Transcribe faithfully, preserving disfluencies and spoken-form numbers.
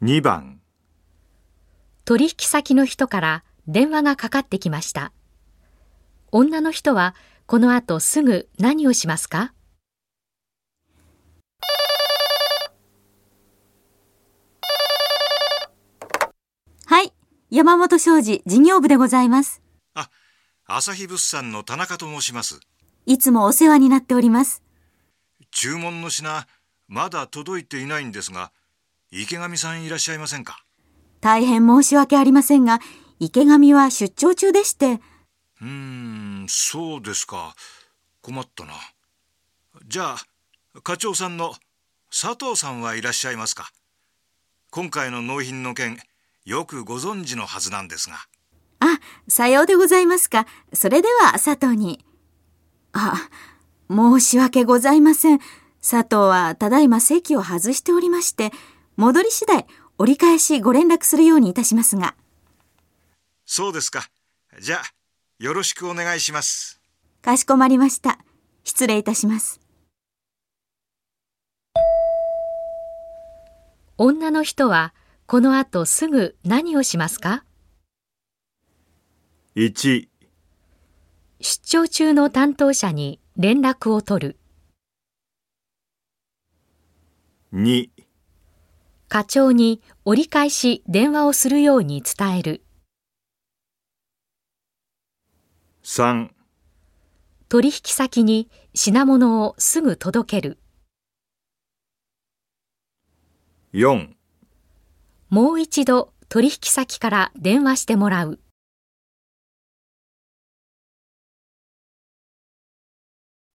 にばん、 取引先の人から電話がかかってきました。女の人はこの後すぐ何をしますか？ はい、山本商事事業部でございます。 あ、朝日物産の田中と申します。 いつもお世話になっております。 注文の品、まだ届いていないんですが、池上さんいらっしゃいませんか？ 大変申し訳ありませんが、池上は出張中でして。 うーん、そうですか。困ったな。じゃあ、課長さんの佐藤さんはいらっしゃいますか？今回の納品の件、よくご存知のはずなんですが。 あ、さようでございますか。それでは佐藤に。あ、申し訳ございません。佐藤はただいま席を外しておりまして、戻り次第折り返しご連絡するようにいたしますが。 そうですか。じゃあ、よろしくお願いします。 かしこまりました。失礼いたします。 女の人はこの後すぐ何をしますか？ いち、 出張中の担当者に連絡を取る。 に、 課長に折り返し電話をするように伝える。 さん、 取引先に品物をすぐ届ける。 よん、 もう一度取引先から電話してもらう。